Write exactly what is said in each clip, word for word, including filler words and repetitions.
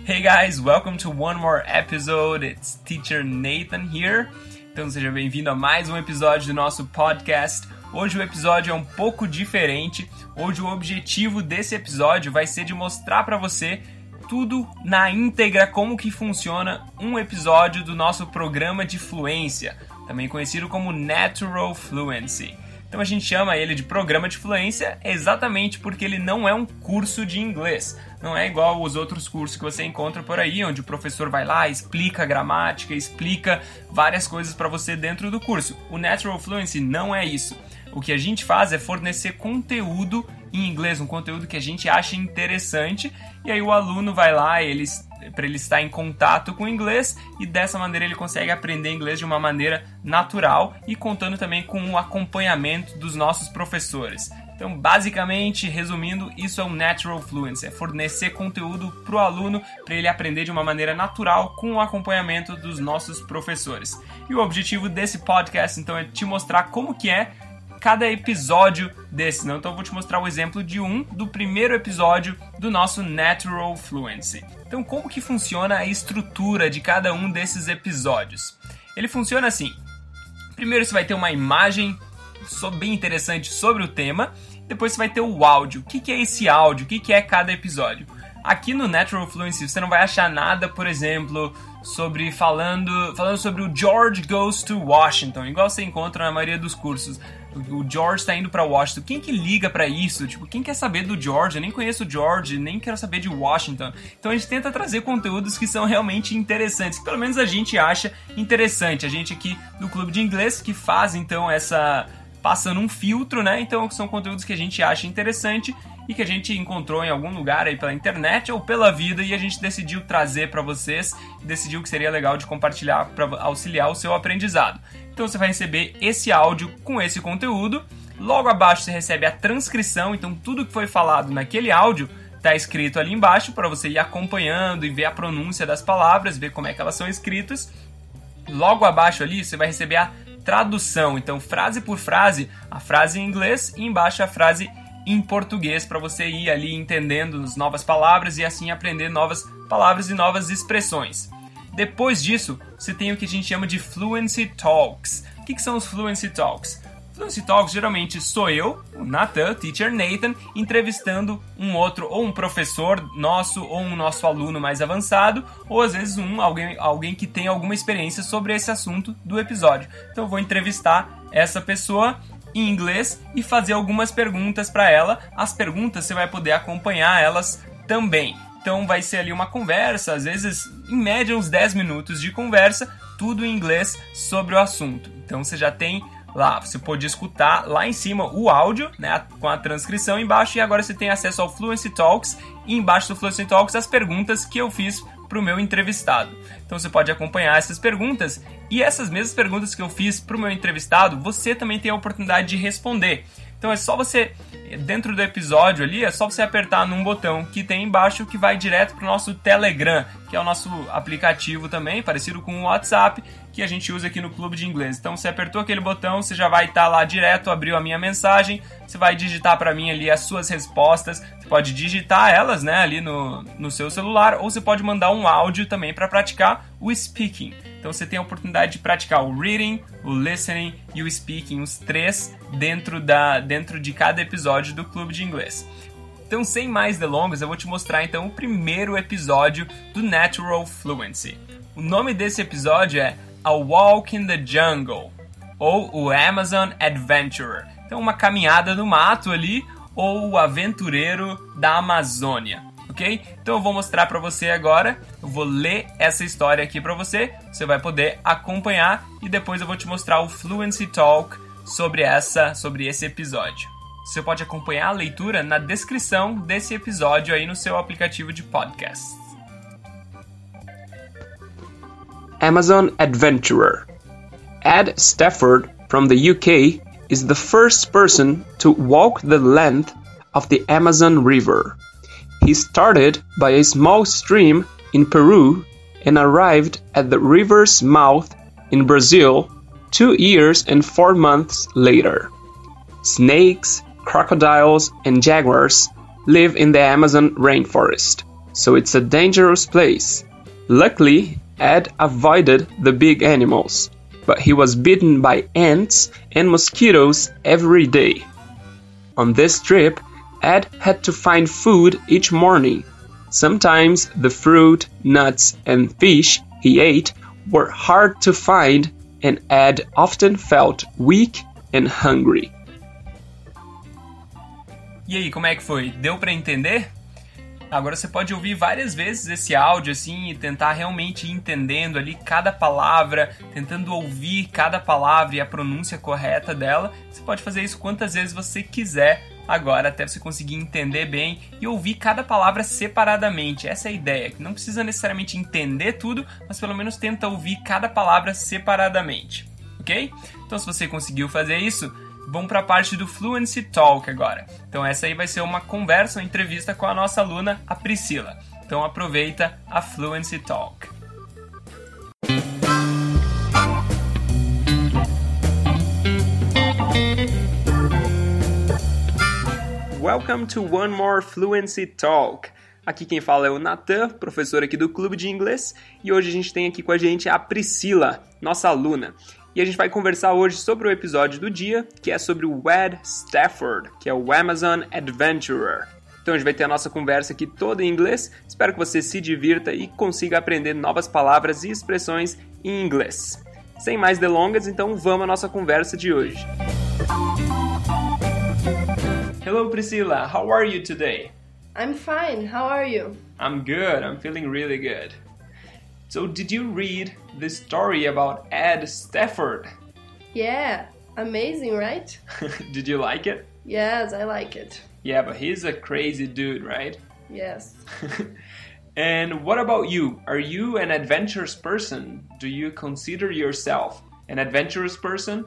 Hey guys, welcome to one more episode. It's Teacher Nathan here. Então seja bem-vindo a mais um episódio do nosso podcast. Hoje o episódio é um pouco diferente. Hoje o objetivo desse episódio vai ser de mostrar para você tudo na íntegra, como que funciona um episódio do nosso programa de fluência, também conhecido como Natural Fluency. Então a gente chama ele de programa de fluência exatamente porque ele não é um curso de inglês. Não é igual os outros cursos que você encontra por aí, onde o professor vai lá, explica a gramática, explica várias coisas para você dentro do curso. O Natural Fluency não é isso. O que a gente faz é fornecer conteúdo em inglês, um conteúdo que a gente acha interessante, e aí o aluno vai lá, ele, para ele estar em contato com o inglês, e dessa maneira ele consegue aprender inglês de uma maneira natural e contando também com o acompanhamento dos nossos professores. Então, basicamente, resumindo, isso é o Natural Fluency, é fornecer conteúdo para o aluno para ele aprender de uma maneira natural com o acompanhamento dos nossos professores. E o objetivo desse podcast, então, é te mostrar como que é cada episódio desse. Não? Então eu vou te mostrar o exemplo de um do primeiro episódio do nosso Natural Fluency. Então como que funciona a estrutura de cada um desses episódios? Ele funciona assim. Primeiro você vai ter uma imagem bem interessante sobre o tema. Depois você vai ter o áudio. O que é esse áudio? O que é cada episódio? Aqui no Natural Fluency você não vai achar nada, por exemplo, sobre falando, falando sobre o George Goes to Washington, igual você encontra na maioria dos cursos. O George está indo para Washington. Quem que liga para isso? Tipo, quem quer saber do George? Eu nem conheço o George, nem quero saber de Washington. Então a gente tenta trazer conteúdos que são realmente interessantes, que pelo menos a gente acha interessante. A gente aqui do Clube de Inglês que faz então essa... passando um filtro, né? Então são conteúdos que a gente acha interessante e que a gente encontrou em algum lugar aí pela internet ou pela vida e a gente decidiu trazer para vocês, decidiu que seria legal de compartilhar para auxiliar o seu aprendizado. Então você vai receber esse áudio com esse conteúdo, logo abaixo você recebe a transcrição, então tudo que foi falado naquele áudio está escrito ali embaixo para você ir acompanhando e ver a pronúncia das palavras, ver como é que elas são escritas. Logo abaixo ali você vai receber a tradução, então frase por frase, a frase em inglês e embaixo a frase em português para você ir ali entendendo as novas palavras e assim aprender novas palavras e novas expressões. Depois disso, você tem o que a gente chama de Fluency Talks. O que, que são os Fluency Talks? Fluency Talks geralmente sou eu, o Nathan, Teacher Nathan, entrevistando um outro, ou um professor nosso, ou um nosso aluno mais avançado, ou às vezes um, alguém, alguém que tem alguma experiência sobre esse assunto do episódio. Então eu vou entrevistar essa pessoa em inglês e fazer algumas perguntas para ela. As perguntas você vai poder acompanhar elas também. Então vai ser ali uma conversa, às vezes em média uns dez minutos de conversa, tudo em inglês sobre o assunto. Então você já tem lá, você pode escutar lá em cima o áudio, né, com a transcrição embaixo, e agora você tem acesso ao Fluency Talks, e embaixo do Fluency Talks as perguntas que eu fiz para o meu entrevistado. Então você pode acompanhar essas perguntas, e essas mesmas perguntas que eu fiz para o meu entrevistado, você também tem a oportunidade de responder. Então é só você, dentro do episódio ali, é só você apertar num botão que tem embaixo que vai direto para o nosso Telegram, que é o nosso aplicativo também, parecido com o WhatsApp, que a gente usa aqui no Clube de Inglês. Então você apertou aquele botão, você já vai estar lá direto, abriu a minha mensagem, você vai digitar para mim ali as suas respostas, você pode digitar elas, né, ali no, no seu celular, ou você pode mandar um áudio também para praticar o speaking. Então você tem a oportunidade de praticar o reading, o listening e o speaking, os três dentro, da, dentro de cada episódio do Clube de Inglês. Então, sem mais delongas, eu vou te mostrar então o primeiro episódio do Natural Fluency. O nome desse episódio é A Walk in the Jungle, ou o Amazon Adventurer. Então, uma caminhada no mato ali, ou o aventureiro da Amazônia. Ok? Então eu vou mostrar para você agora, eu vou ler essa história aqui para você, você vai poder acompanhar e depois eu vou te mostrar o Fluency Talk sobre, essa, sobre esse episódio. Você pode acompanhar a leitura na descrição desse episódio aí no seu aplicativo de podcast. Amazon Adventurer. Ed Stafford from the U K is the first person to walk the length of the Amazon River. He started by a small stream in Peru and arrived at the river's mouth in Brazil two years and four months later. Snakes, crocodiles, and jaguars live in the Amazon rainforest. so it's a dangerous place. Luckily, Ed avoided the big animals, but he was bitten by ants and mosquitoes every day. On this trip, Ed had to find food each morning. Sometimes the fruit, nuts, and fish he ate were hard to find, and Ed often felt weak and hungry. E aí, como é que foi? Deu para entender? Agora você pode ouvir várias vezes esse áudio assim e tentar realmente ir entendendo ali cada palavra, tentando ouvir cada palavra e a pronúncia correta dela. Você pode fazer isso quantas vezes você quiser agora, até você conseguir entender bem e ouvir cada palavra separadamente. Essa é a ideia, que não precisa necessariamente entender tudo, mas pelo menos tenta ouvir cada palavra separadamente, ok? Então se você conseguiu fazer isso, vamos para a parte do Fluency Talk agora. Então essa aí vai ser uma conversa, uma entrevista com a nossa aluna, a Priscila. Então aproveita a Fluency Talk. Welcome to one more Fluency Talk. Aqui quem fala é o Nathan, professor aqui do Clube de Inglês, e hoje a gente tem aqui com a gente a Priscila, nossa aluna. E a gente vai conversar hoje sobre o episódio do dia, que é sobre o Ed Stafford, que é o Amazon Adventurer. Então a gente vai ter a nossa conversa aqui toda em inglês. Espero que você se divirta e consiga aprender novas palavras e expressões em inglês. Sem mais delongas, então vamos à nossa conversa de hoje. Hello Priscilla, how are you today? I'm fine, how are you? I'm good, I'm feeling really good. So did you read the story about Ed Stafford? Yeah, amazing, right? Did you like it? Yes, I like it. Yeah, but he's a crazy dude, right? Yes. And what about you? Are you an adventurous person? Do you consider yourself an adventurous person?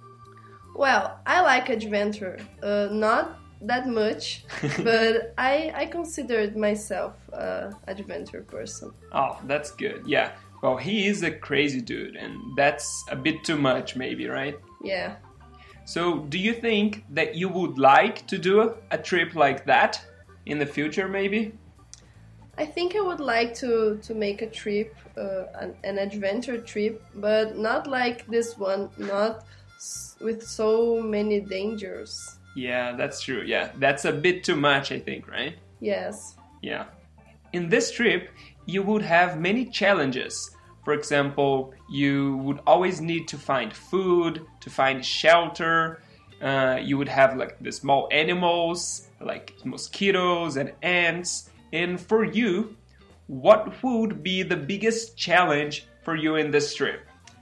Well, I like adventure. Uh, not that much, but I I considered myself an adventure person. Oh, that's good. Yeah. Well, he is a crazy dude, and that's a bit too much, maybe, right? Yeah. So, do you think that you would like to do a trip like that in the future, maybe? I think I would like to, to make a trip, uh, an, an adventure trip, but not like this one, not s- with so many dangers. Yeah, that's true. Yeah, that's a bit too much, I think, right? Yes. Yeah. In this trip, you would have many challenges. For example, you would always need to find food, to find shelter. Uh, you would have like the small animals, like mosquitoes and ants. And for you, what would be the biggest challenge for you in this trip?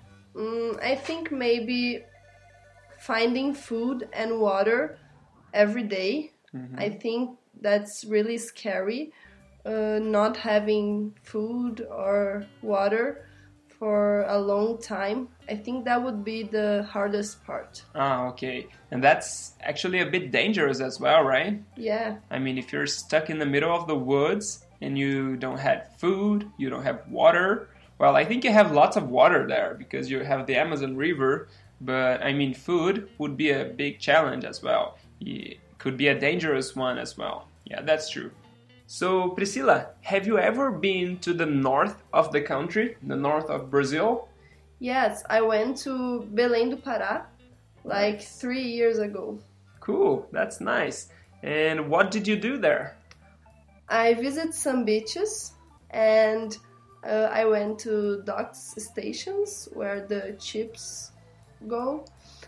Mm, I think maybe finding food and water every day. Mm-hmm. I think that's really scary. Uh, not having food or water for a long time. I think that would be the hardest part. Ah, okay. And that's actually a bit dangerous as well, right? Yeah. I mean, if you're stuck in the middle of the woods and you don't have food, you don't have water. Well, I think you have lots of water there because you have the Amazon River. But, I mean, food would be a big challenge as well. It could be a dangerous one as well. Yeah, that's true. So, Priscilla, have you ever been to the north of the country, the north of Brazil? Yes, I went to Belém do Pará like three years ago. Cool, that's nice. And what did you do there? I visited some beaches and uh, I went to docks stations where the ships go.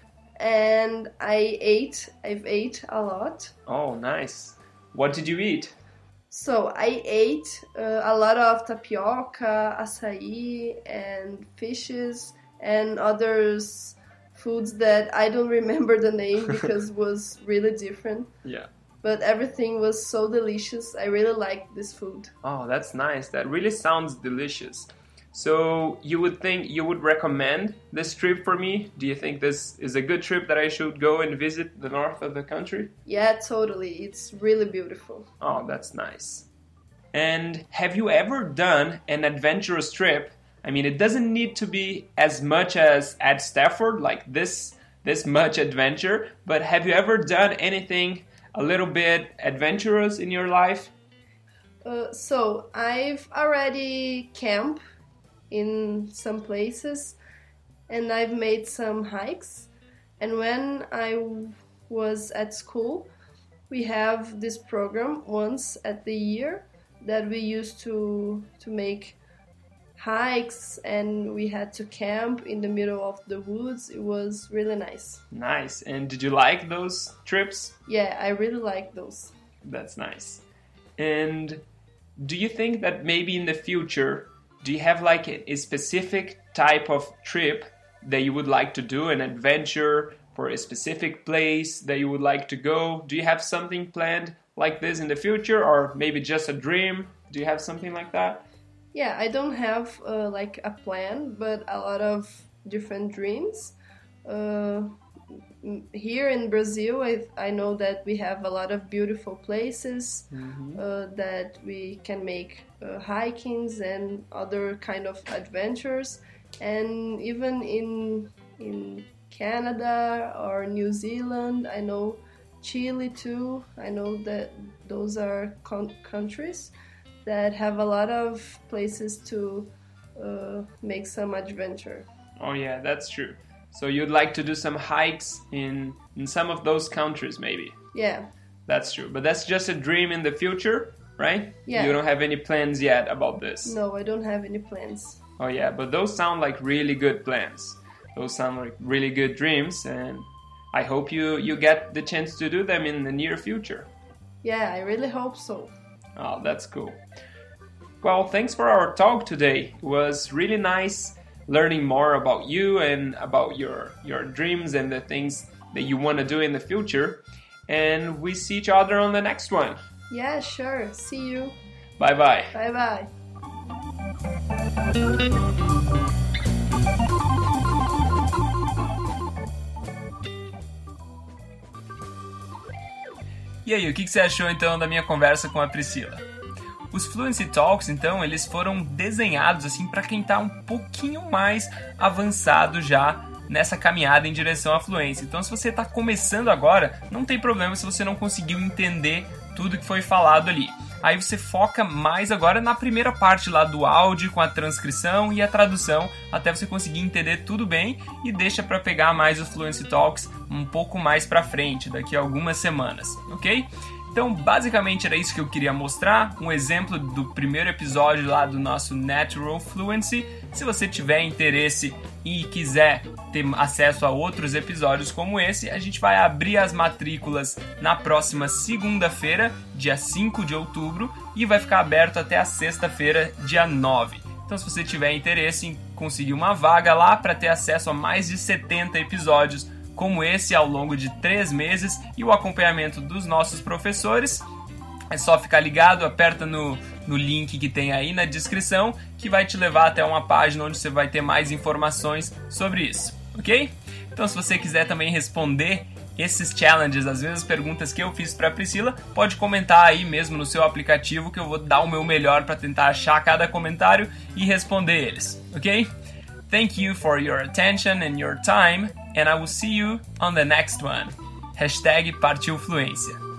And I ate, I've ate a lot. Oh, nice. What did you eat? So I ate uh, a lot of tapioca, açaí, and fishes, and others foods that I don't remember the name because it was really different. Yeah. But everything was so delicious. I really liked this food. Oh, that's nice. That really sounds delicious. So you would think you would recommend this trip for me? Do you think this is a good trip that I should go and visit the north of the country? Yeah, totally. It's really beautiful. Oh, that's nice. And have you ever done an adventurous trip? I mean, it doesn't need to be as much as Ed Stafford, like this, this much adventure, but have you ever done anything a little bit adventurous in your life? Uh, so I've already camped in some places, and I've made some hikes. And when I was at school, we have this program once at the year that we used to to make hikes, and we had to camp in the middle of the woods. It was really nice. Nice. And did you like those trips? Yeah, I really like those. That's nice. And do you think that maybe in the future, do you have like a, a specific type of trip that you would like to do, an adventure for a specific place that you would like to go? Do you have something planned like this in the future, or maybe just a dream? Do you have something like that? Yeah, I don't have uh, like a plan, but a lot of different dreams. Uh, here in Brazil, I, I know that we have a lot of beautiful places mm-hmm. uh, that we can make uh, hikings and other kind of adventures. And even in in Canada or New Zealand, I know Chile too. I know that those are con- countries that have a lot of places to uh, make some adventure. Oh yeah, that's true. So you'd like to do some hikes in, in some of those countries maybe? Yeah. That's true. But that's just a dream in the future, right? Yeah. You don't have any plans yet about this? No, I don't have any plans. Oh yeah, but those sound like really good plans. Those sound like really good dreams, and I hope you, you get the chance to do them in the near future. Yeah, I really hope so. Oh, that's cool. Well, thanks for our talk today. It was really nice learning more about you and about your, your dreams and the things that you want to do in the future. And we see each other on the next one. Yeah, sure. See you. Bye-bye. Bye-bye. E aí, o que você achou então da minha conversa com a Priscila? Os Fluency Talks, então, eles foram desenhados assim para quem está um pouquinho mais avançado já nessa caminhada em direção à fluência. Então, se você está começando agora, não tem problema se você não conseguiu entender tudo que foi falado ali. Aí você foca mais agora na primeira parte lá do áudio, com a transcrição e a tradução, até você conseguir entender tudo bem, e deixa para pegar mais os Fluency Talks um pouco mais para frente, daqui a algumas semanas, ok? Então, basicamente era isso que eu queria mostrar, um exemplo do primeiro episódio lá do nosso Natural Fluency. Se você tiver interesse e quiser ter acesso a outros episódios como esse, a gente vai abrir as matrículas na próxima segunda-feira, dia cinco de outubro, e vai ficar aberto até a sexta-feira, dia nove. Então, se você tiver interesse em conseguir uma vaga lá para ter acesso a mais de setenta episódios como esse ao longo de três meses e o acompanhamento dos nossos professores, é só ficar ligado, aperta no, no link que tem aí na descrição, que vai te levar até uma página onde você vai ter mais informações sobre isso, ok? Então, se você quiser também responder esses challenges, as mesmas perguntas que eu fiz para a Priscila, pode comentar aí mesmo no seu aplicativo, que eu vou dar o meu melhor para tentar achar cada comentário e responder eles, ok? Thank you for your attention and your time, and I will see you on the next one. Hashtag Partiu Fluência.